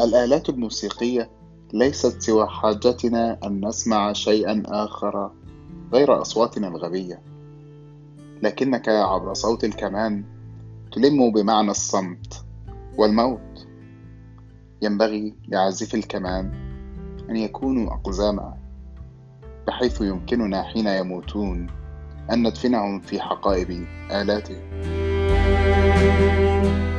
الآلات الموسيقية ليست سوى حاجتنا أن نسمع شيئا آخر غير أصواتنا الغبية، لكنك عبر صوت الكمان تلم بمعنى الصمت والموت. ينبغي لعازفي الكمان أن يكونوا أقزاما، بحيث يمكننا حين يموتون أن ندفنهم في حقائب آلاتهم.